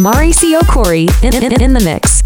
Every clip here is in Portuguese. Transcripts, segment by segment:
Mauricio Corey in the mix.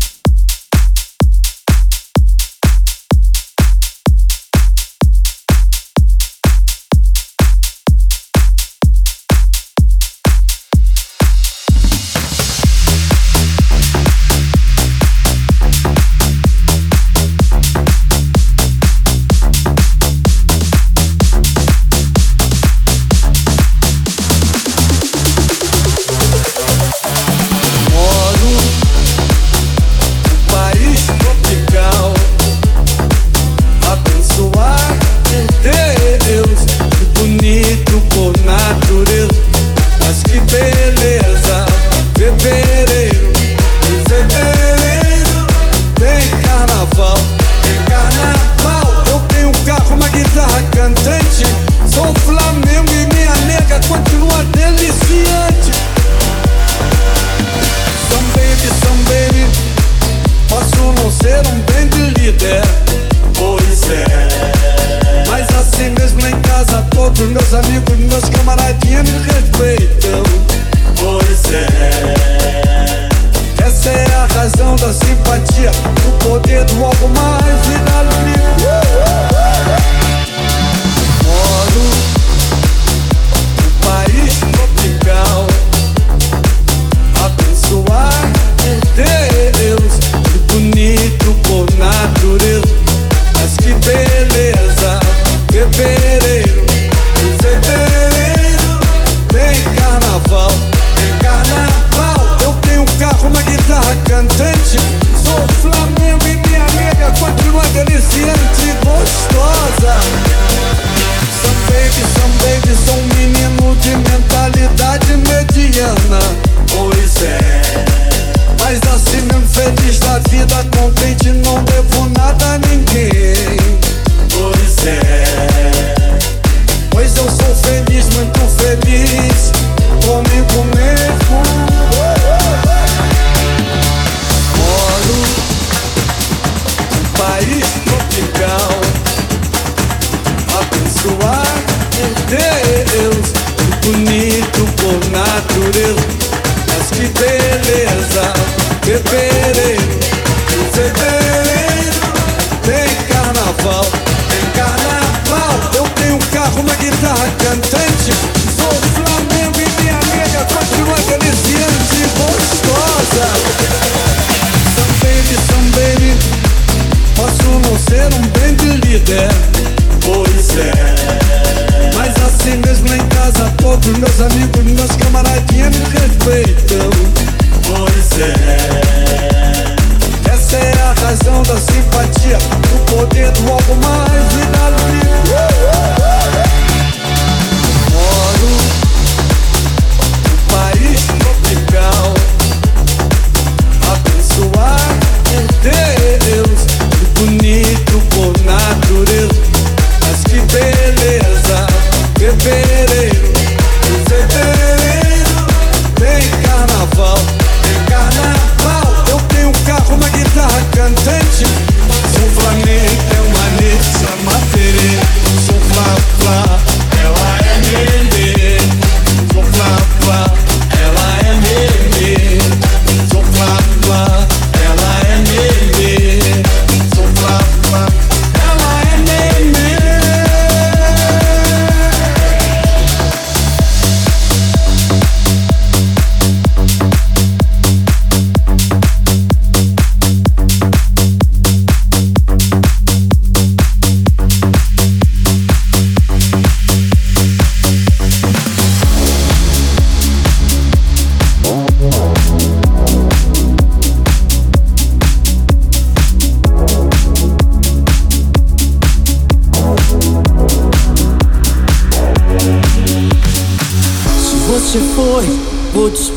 Vou te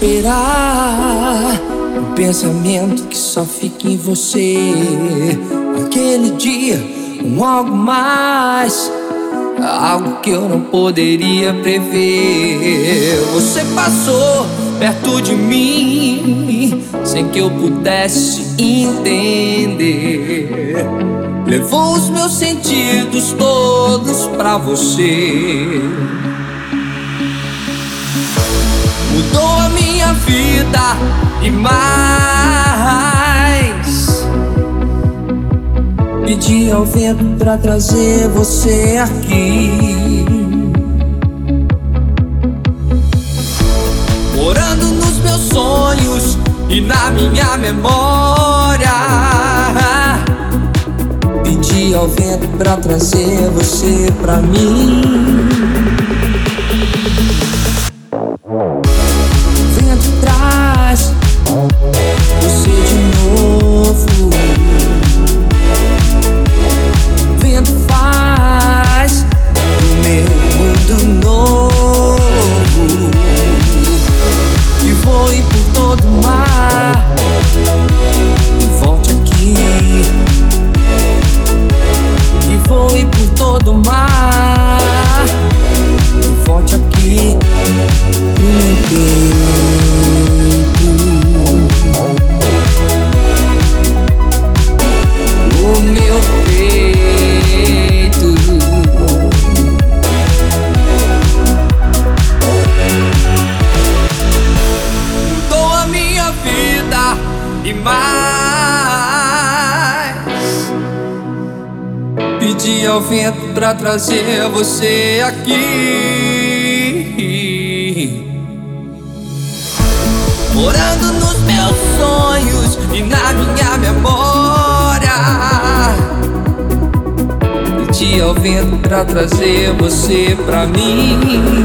esperar. Um pensamento que só fica em você. Aquele dia, algo mais, algo que eu não poderia prever. Você passou perto de mim sem que eu pudesse entender. Levou os meus sentidos todos pra você. Mudou a minha vida, e mais. Pedi ao vento pra trazer você aqui, morando nos meus sonhos e na minha memória. Pedi ao vento pra trazer você pra mim. Vento traz você de novo. Vento faz o meu mundo novo. E voe por todo o mar e volte aqui. E voe por todo o mar e volte aqui pro meu peito. O meu peito. Mudou a minha vida e mais. Pedi ao vento pra trazer você aqui, morando nos meus sonhos e na minha memória. Pedi ao vento pra trazer você pra mim.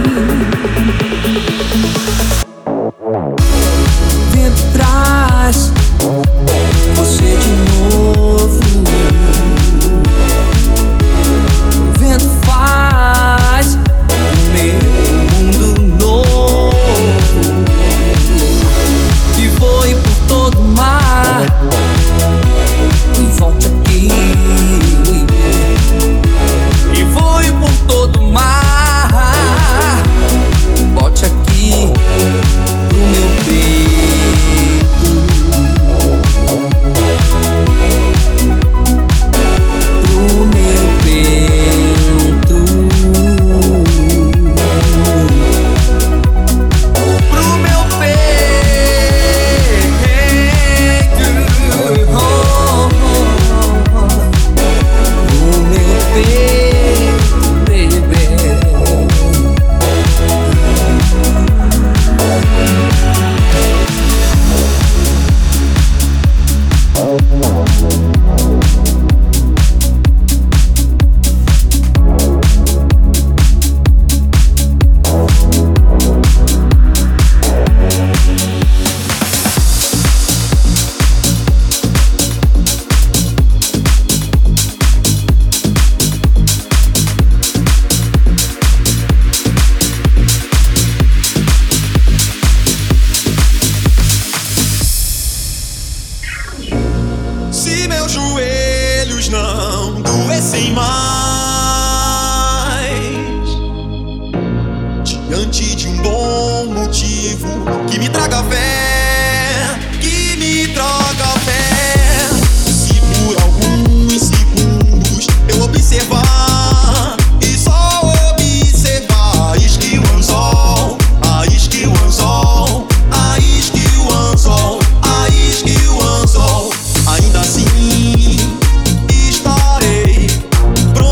Vento traz você de novo. Vento faz o meu mundo novo. E voe por todo o mar e volte aqui. E voe por todo o mar, volte aqui pro meu peito. Pro meu peito. Pro meu peito. Oh, oh, oh. Pro meu peito, baby. Se meus joelhos não doessem mais diante de um bom motivo que me traga fé, que me traga fé. Se por alguns segundos eu observar e só observar, isque o anzol, a isque o anzol, a isque o anzol, a isque o anzol. Ainda assim estarei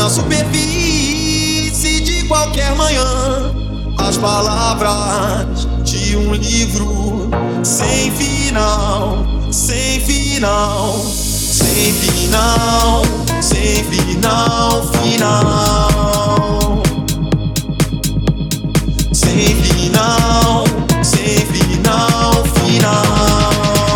superfície de qualquer manhã. As palavras de um livro sem final, sem final, sem final, sem final, final. Sem final, sem final, final.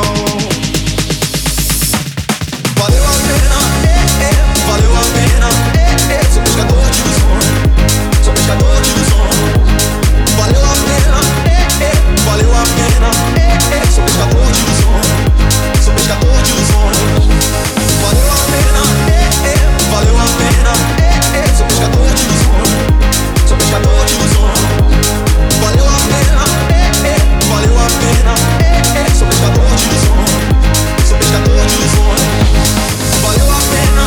Valeu a pena, valeu a pena, sou pescador de ilusões, sou pescador de ilusões. Valeu a pena, valeu a pena, sou pescador de ilusões, sou pescador de ilusões. Valeu a pena, valeu a pena, sou pescador de ilusões, sou pescador de ilusões. Valeu a pena, valeu a pena, sou pescador de ilusões, sou pescador de ilusões. Valeu a pena.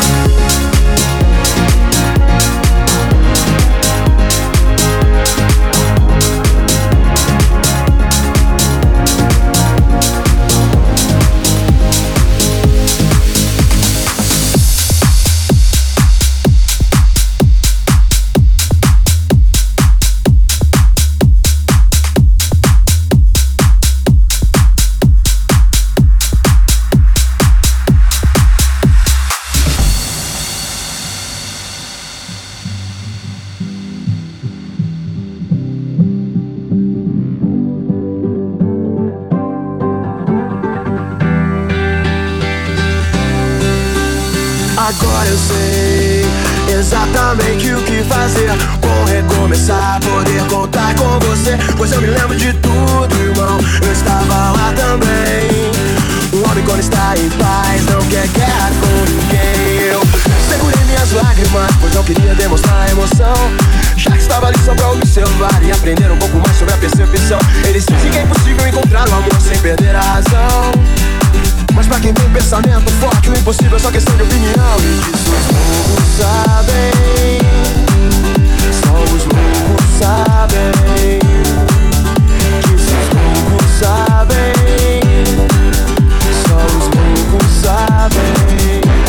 Agora eu sei exatamente o que fazer. Vou recomeçar, poder contar com você. Pois eu me lembro de tudo, irmão, eu estava lá também. Um homem quando está em paz não quer guerra com ninguém. Eu segurei minhas lágrimas, pois não queria demonstrar emoção. Já que estava ali só pra observar e aprender um pouco mais sobre a percepção. Eles dizem que é impossível encontrar o amor sem perder a razão. Mas pra quem tem pensamento forte, o impossível é só questão de opinião. E disso os loucos sabem, só os loucos sabem. Disso os loucos sabem, só os loucos sabem.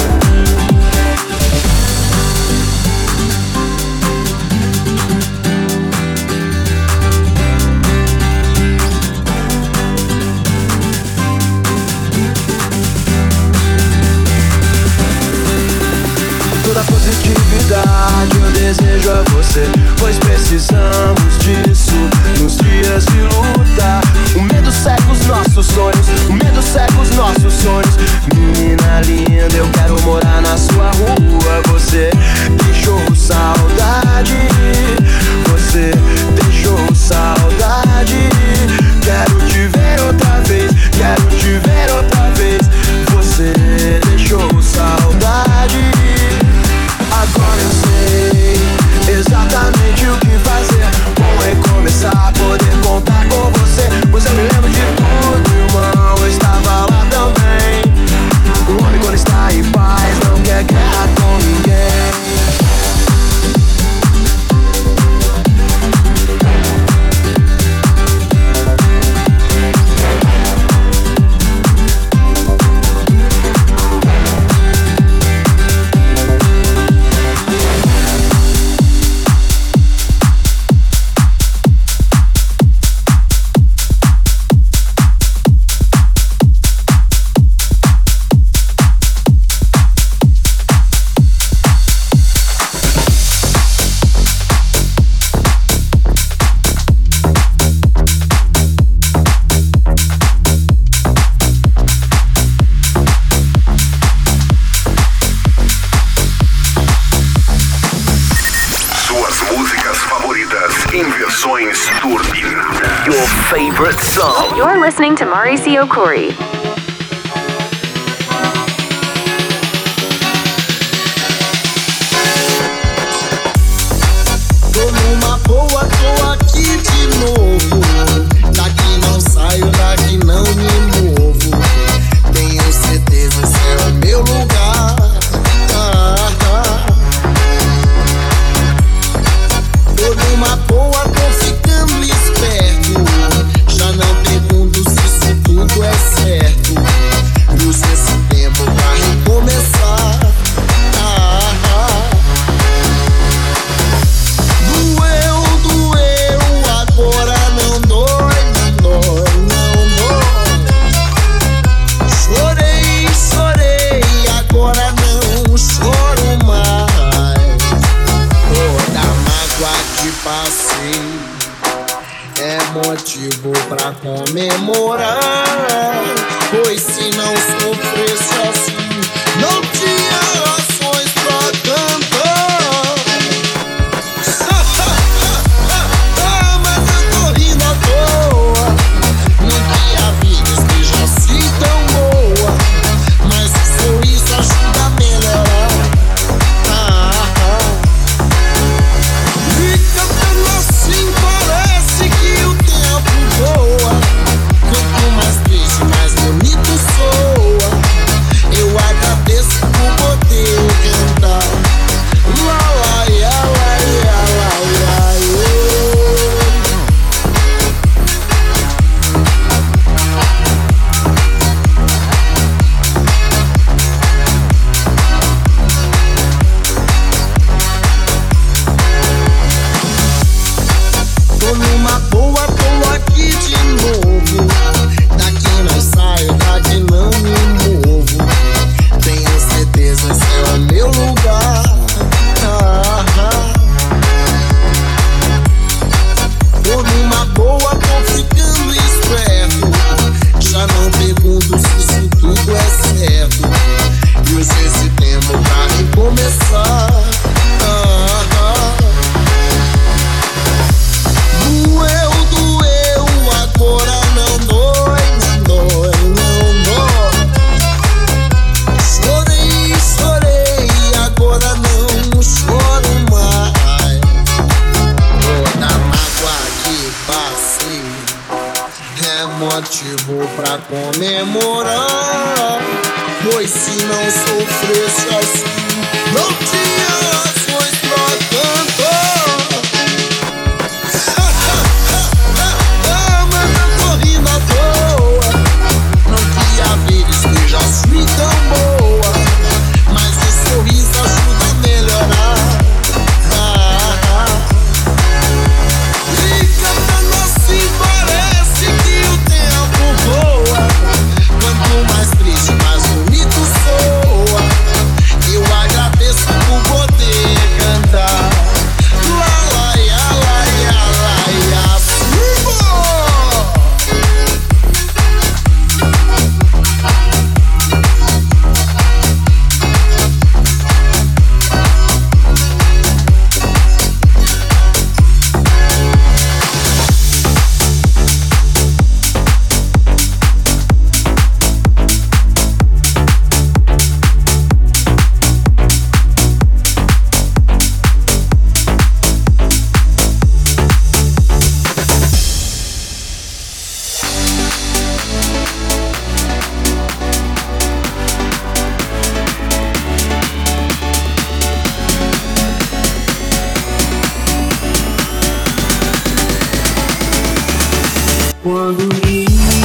Toda positividade eu desejo a você, pois precisamos disso nos dias de luta. O medo cega os nossos sonhos, o medo cega os nossos sonhos. Menina linda, eu quero morar na sua rua. Você deixou saudade, você deixou saudade. Quero te ver outra vez, quero te ver outra vez. Você deixou saudade. Agora eu sei exatamente o que fazer. Vou recomeçar, poder contar com você. Pois eu me lembro de tudo, irmão, eu estava lá também. O homem quando está em paz não quer guerra com ninguém. Your favorite song. You're listening to Mauricio Corey. Tô numa boa, tô aqui de novo. Daqui não saio, daqui não me movo. Tenho certeza, esse é o meu lugar. Tô numa boa, tô ficando esperto. Já não pergunto se isso tudo é certo. motivo pra comemorar. Pois se não sofresse assim, não tinha razões pra cantar. Mas eu tô rindo à toa, não que a vida esteja assim tão boa, mas o sorriso ajuda a melhorar. E cantando assim parece que o tempo voa. Quanto mais triste, mais bonito soa. Eu agradeço por poder cantar. Lá, lá, ia, lá, ia, lá, ia, tô numa boa, tô aqui de novo. Daqui não saio, daqui não me movo. Tenho certeza, esse é o meu lugar. Tô numa boa, tô ficando esperto. Já não pergunto se isso tudo é certo. E uso esse tempo pra recomeçar. Doeu, doeu, agora não dói, não dói, não dói. Chorei, chorei, agora não choro mais. Toda mágoa que passei é motivo pra comemorar. Pois se não sofresse assim, não tinha razões pra cantar. Mas eu tô rindo à toa, não que a vida esteja assim tão boa, mas o sorriso ajuda a melhorar. E cantando assim parece que o tempo voa. Quanto mais triste, mais bonito soa. Eu agradeço por poder cantar. Lá, lá, ia, lá, ia, lá, ia, quando me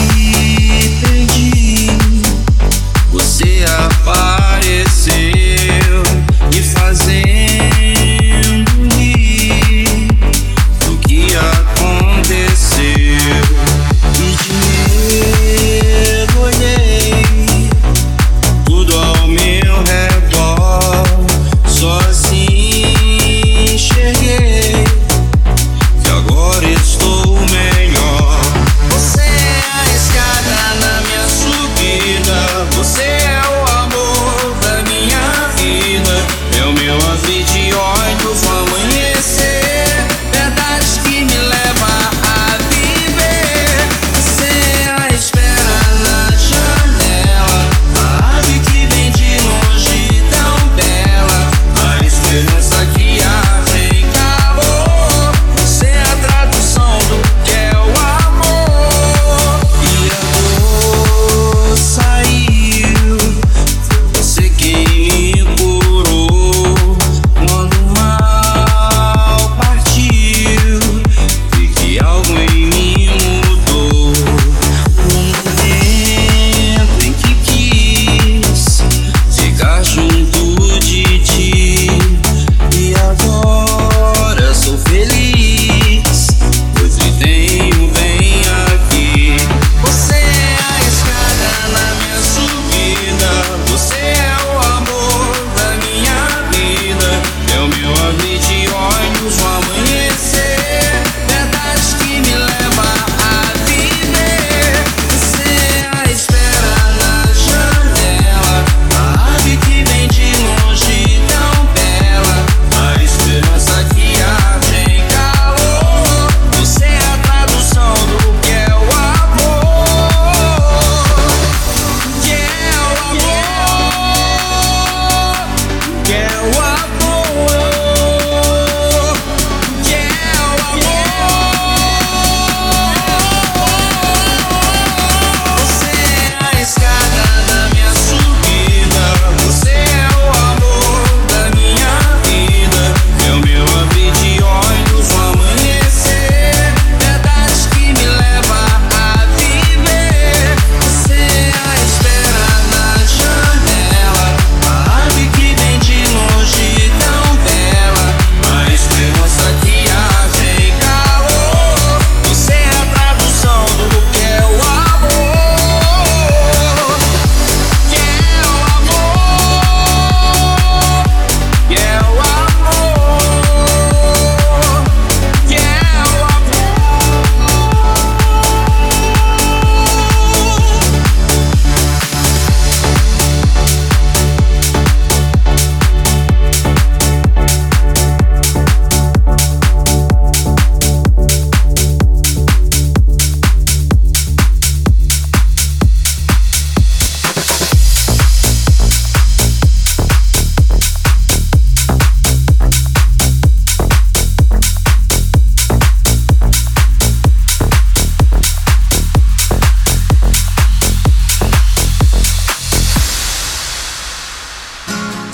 perdi, você apareceu, me fazendo rir do que aconteceu. E de medo olhei tudo ao meu redor, só assim enxerguei que agora estou melhor. Você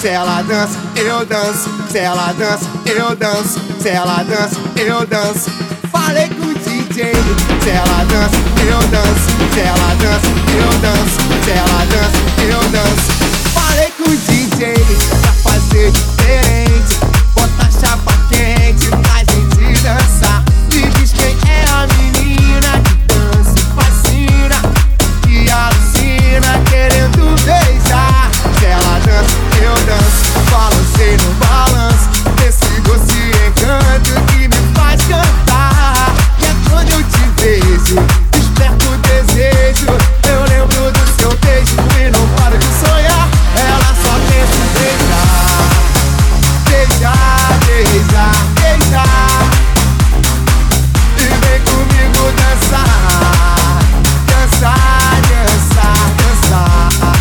ela dança, eu danço. Se ela dança, eu danço. Se ela dança, eu danço. Falei com o DJ. Se ela dança, eu danço. Se ela dança, eu danço. Se ela dança, eu danço. Falei com o DJ pra fazer diferente. Bota a chapa quente pra gente dançar. Me diz quem é a menina que dança e fascina, que alucina querendo beijar. Se ela dança, eu danço. Balancei no balanço desse gosto e encanto que me faz cantar. E é quando eu te vejo, desperto o desejo. Eu lembro do seu beijo e não paro de sonhar. Ela só pensa em beijar, beijar, beijar, beijar. E vem comigo dançar, dançar, dançar, dançar.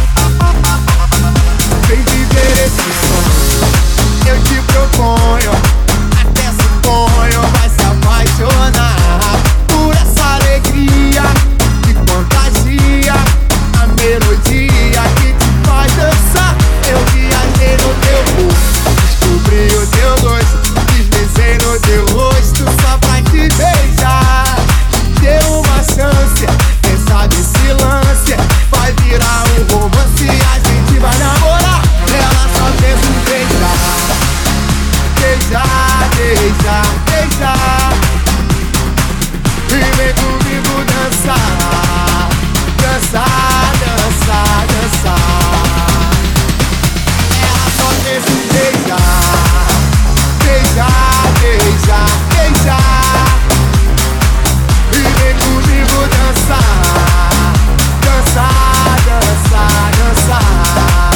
Vem viver esse sonho, eu te proponho. Até suponho, vai se apaixonar por essa alegria que contagia, a melodia que te faz dançar. Eu viajei no teu corpo, descobri o teu gosto, deslizei no teu rosto só pra te beijar. Dê uma chance, quem sabe esse lance vai virar um romance e a gente vai namorar. Ela só pensa em beijar, beijar, beijar, beijar. E vem comigo dançar, dançar, dançar, dançar. Ela só pensa em beijar, beijar, beijar, beijar. E vem comigo dançar, dançar, dançar, dançar.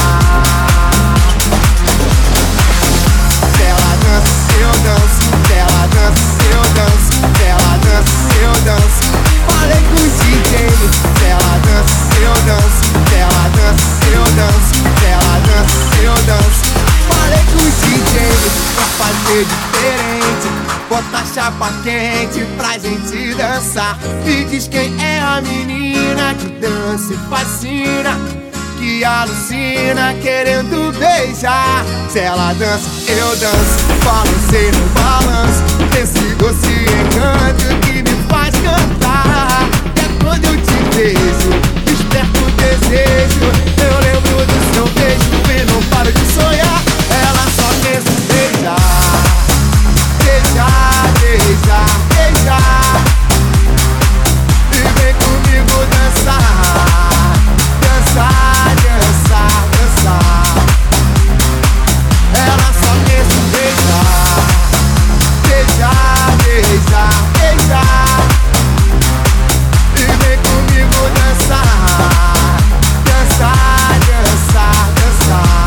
Se ela dança, eu danço. Se ela dança, eu danço. Se ela dança, eu danço. Falei com o DJ. Se ela dança, eu danço. Se ela dança, eu danço. Se ela dança, eu danço. Falei com o DJ pra fazer diferente. Bota a chapa quente pra gente dançar. Me diz quem é a menina que dança e fascina, que alucina querendo beijar. Se ela dança, eu danço. Balancei no balanço desse gosto e encanto que me faz cantar. E é quando eu te vejo, desperto o desejo. Eu lembro do seu beijo e não paro de sonhar. Ela só pensa em beijar, beijar, beijar, beijar. E vem comigo dançar, dançar, dançar, dançar. Ela só pensa em beijar, beijar, beijar, beijar. E vem comigo dançar, dançar, dançar, dançar.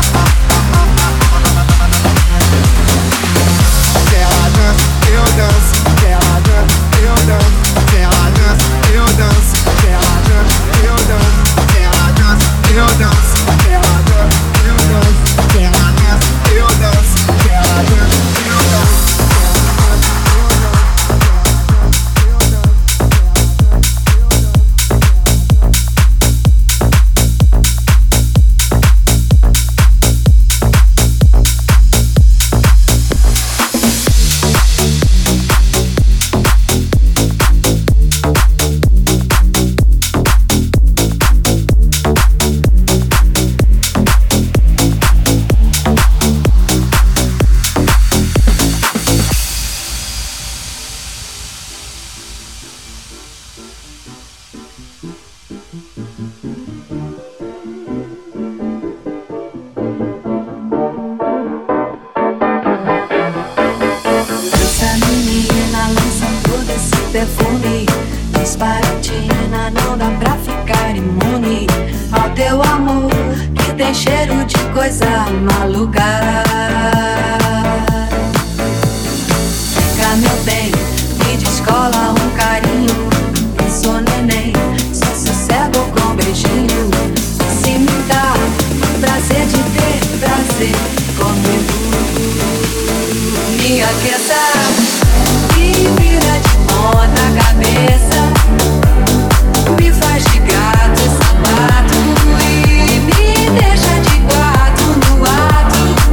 Se ela dança, eu danço. Se ela dança, eu danço. Se ela dança, eu danço. Se ela dança, eu danço. Se ela dança, eu danço. Se ela dança, eu danço. Se ela dança, eu danço. Se ela dança, eu danço. Perfume, disparatina, não dá pra ficar imune ao teu amor que tem cheiro de coisa maluca. Fica meu bem, me descola um carinho. Eu sou neném, só sossego com beijinho. Se me dá prazer de ter prazer comigo, me aqueça. Me vira de ponta cabeça, me faz de gato e sapato e me deixa de quatro no ato.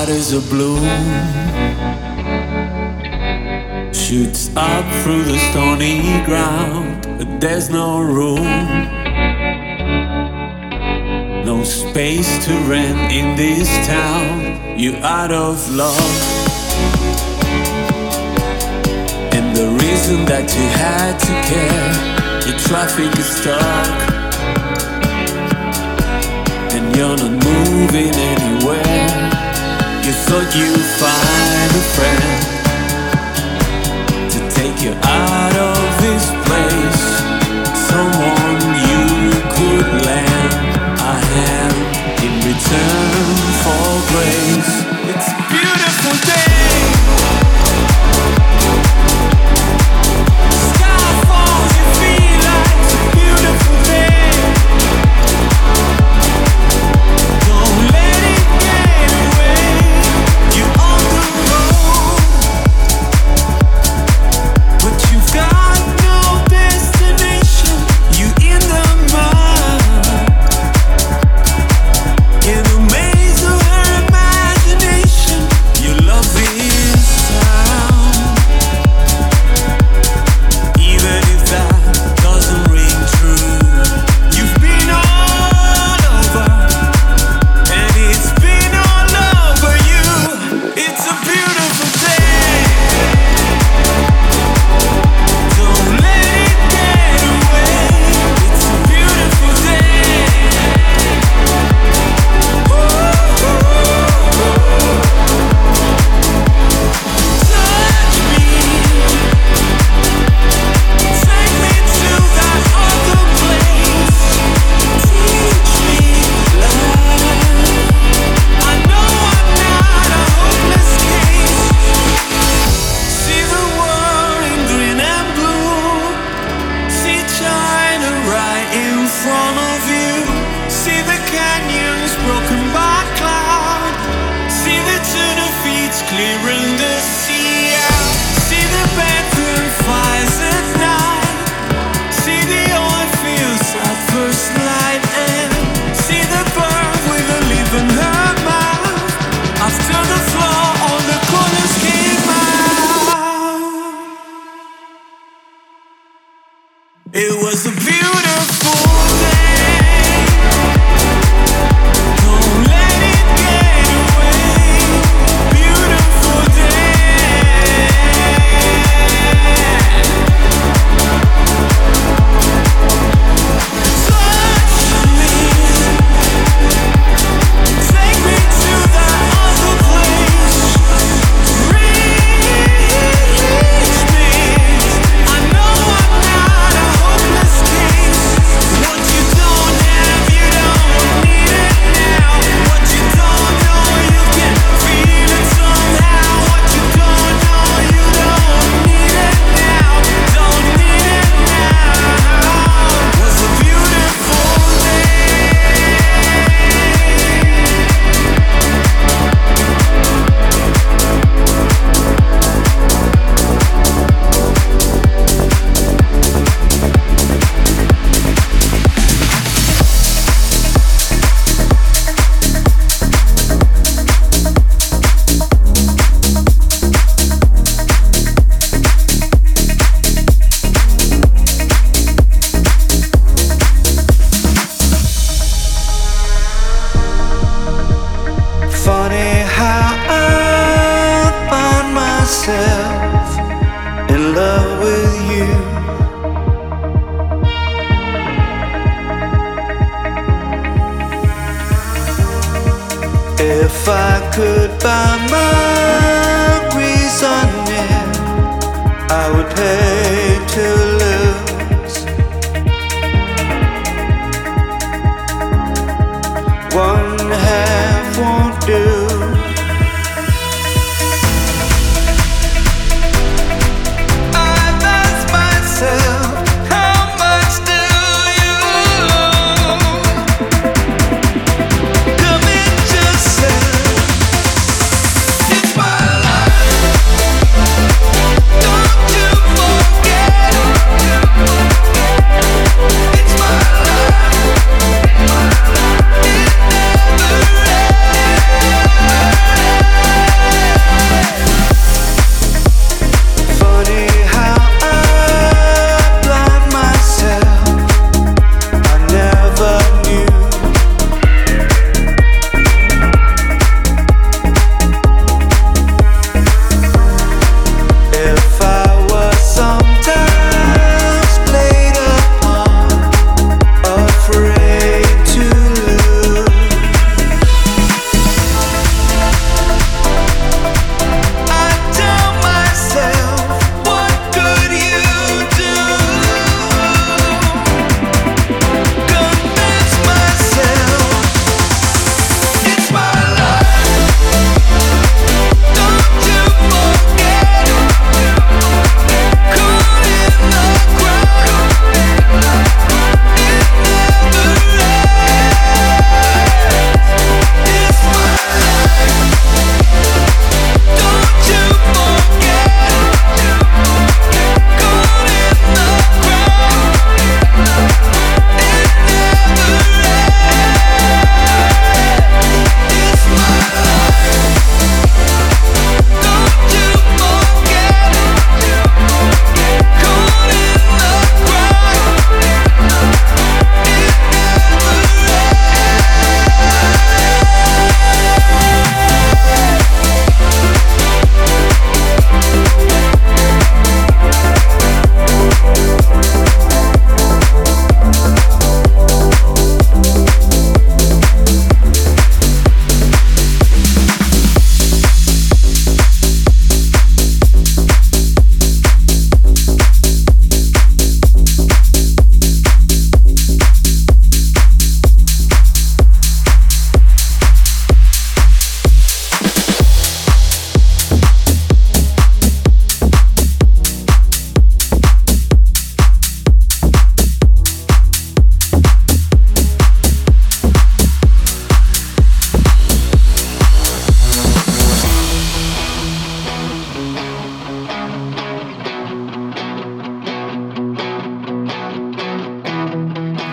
heart is a bloom, shoots up through the stony ground, but there's no room, no space to rent in this town. You're out of luck, and the reason that you had to care, the traffic is stuck, and you're not moving anywhere. You thought you'd find a friend to take you out of this place, someone you could lend a hand in return for grace. It's a beautiful day. Sky falls, you feel like it's a beautiful day. Don't let it get away. You're on the road, but you've got no destination. You're in the mud, in a maze of her imagination. Your love is sound, even if that doesn't ring true. You've been all over, and it's been all over you. It's a beautiful day. Don't let it get away. It's a beautiful day. Touch me, take me to that other place. Teach me love. I know I'm not a hopeless case. See the world in green and blue. See China right in front of you. See the canyons broken by cloud. See the tuna feet clearing the sea out. See the bedroom fires at night. See the oil fields at first light. And see the bird with a leaf in her mouth. After the floor all the colors came out. It was a beautiful day. Don't let it get away. Beautiful day. Touch me, take me to that other place. Reach me. I know I'm not a hopeless case. What you don't have, you don't need it now. What you don't know, you can feel it somehow. What you don't know, you don't need it now. Don't need it now. Was a beautiful day. Funny how I find myself in love with you. If I could buy my reasoning, I would pay to lose. One half won't do. I've asked myself, how much do you owe? Commit yourself. It's my life. Don't you forget.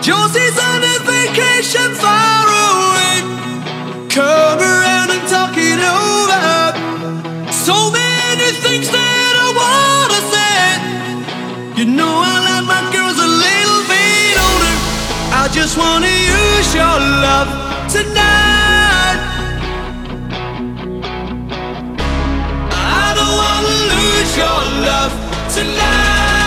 Josie's on a vacation far away. Come around and talk it over. So many things that I wanna say. You know I like my girls a little bit older. I just wanna use your love tonight. I don't wanna lose your love tonight.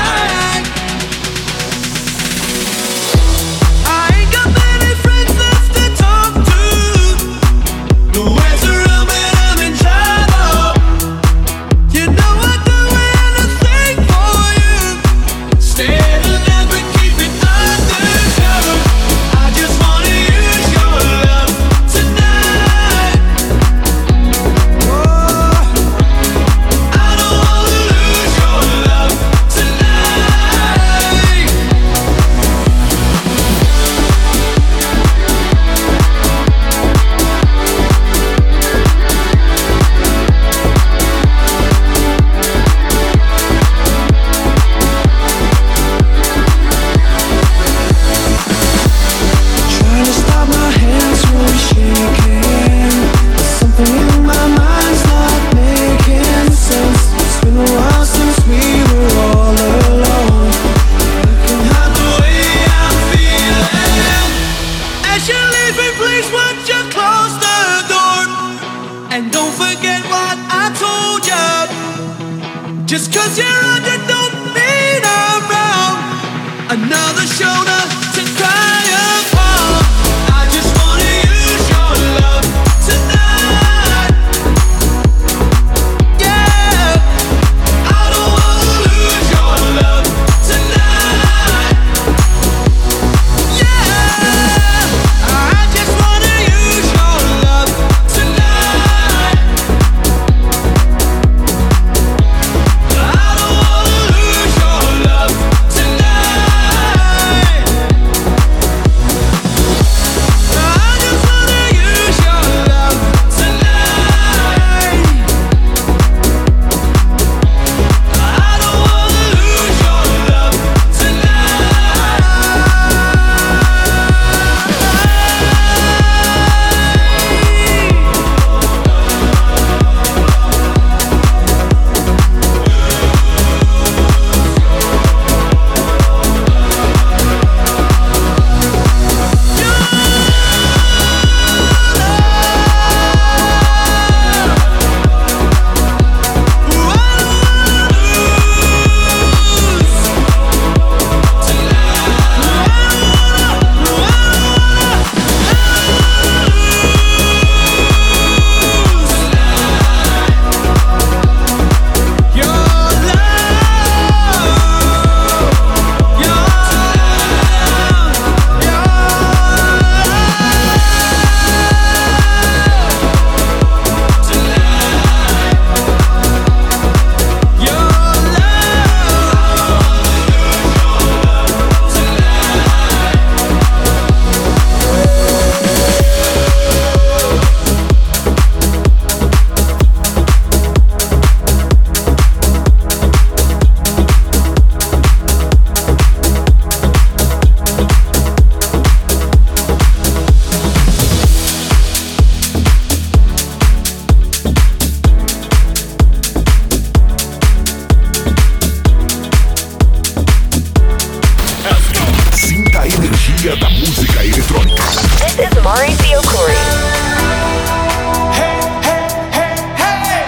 Just 'cause you're under don't mean I'm wrong. Another shoulder to cry upon. I just wanna use your love tonight. Yeah, I don't wanna lose your love tonight. Yeah, I just wanna use your love tonight. Da música eletrônica. This is Mauricio Corey. Hey, hey, hey, hey.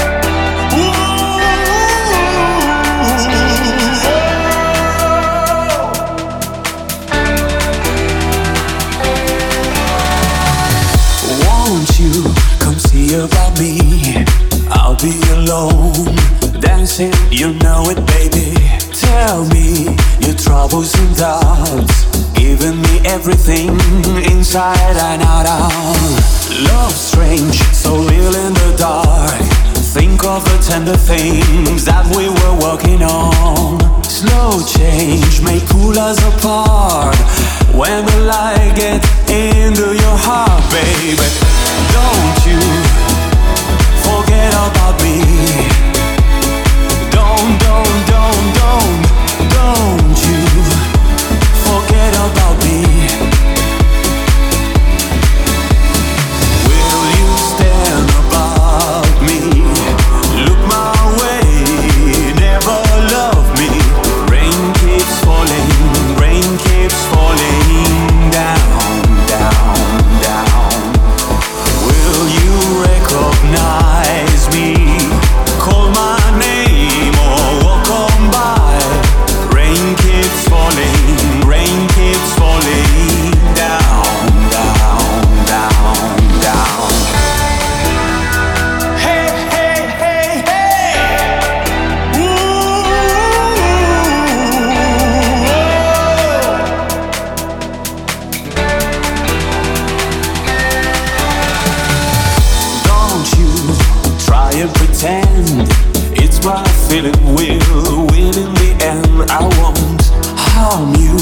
Won't you come see about me? I'll be alone, dancing, you know it, baby. Tell me your troubles and doubts, giving me everything inside and out. Love strange, so real in the dark. Think of the tender things that we were working on. Slow change may pull us apart when the light gets into your heart, baby. Don't you forget about me. Don't you forget about me.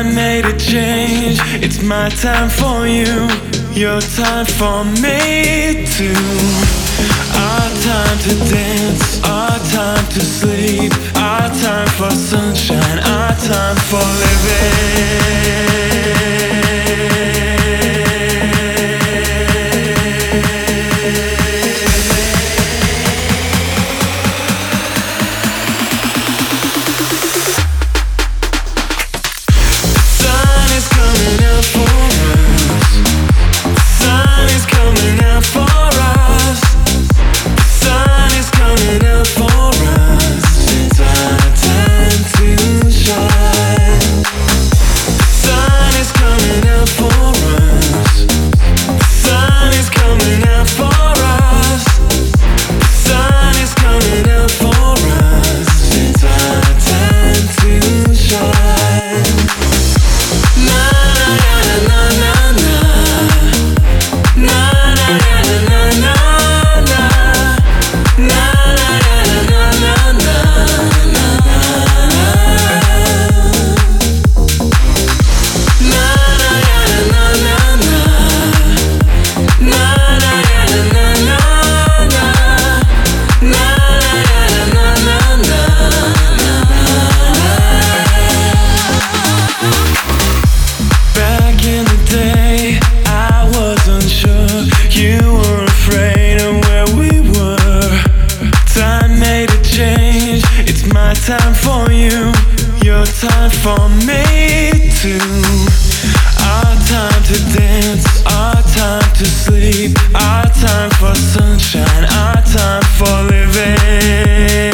Time made a change. It's my time for you, your time for me too. Our time to dance, our time to sleep, our time for sunshine, our time for living. Time for you, your time for me too. Our time to dance, our time to sleep, our time for sunshine, our time for living.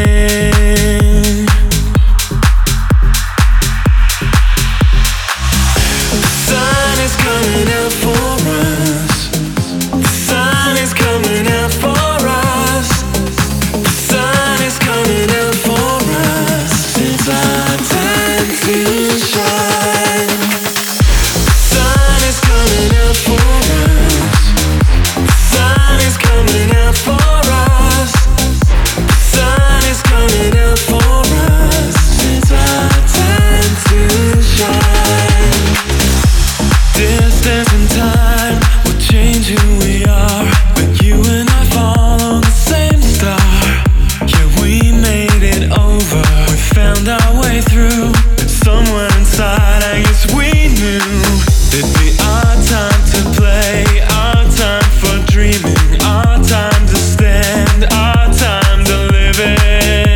The sun is coming out for us. The sun is coming out for us. The sun is coming out for us. It's our time to shine. The sun is coming out for us. The sun is coming out for us. The sun is coming out for us. It's our time to shine. Distance and time will change who we are, but you and I follow the same star. Yeah, we made it over. We found our way through. Somewhere inside, I guess we knew it'd be our time to play, our time for dreaming, our time to stand, our time to live it.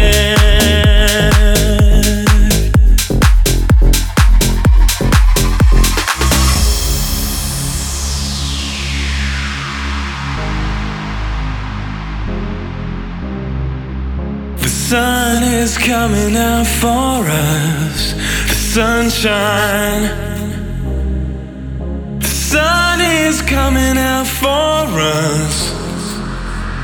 The sun is coming out for us. The sunshine. The sun is coming out for us.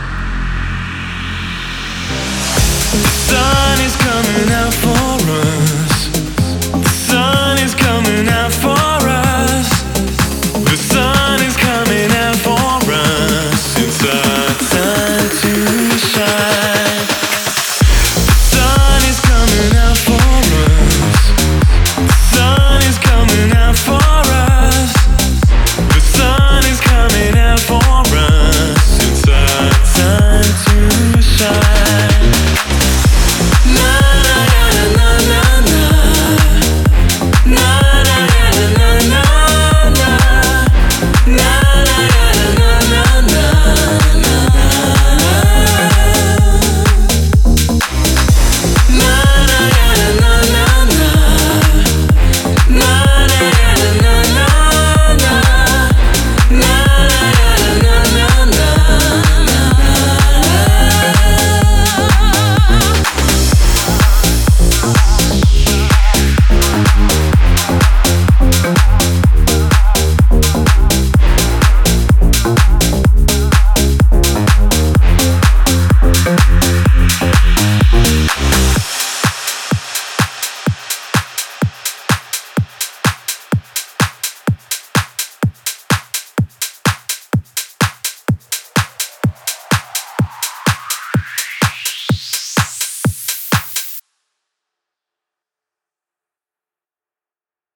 The sun is coming out for us.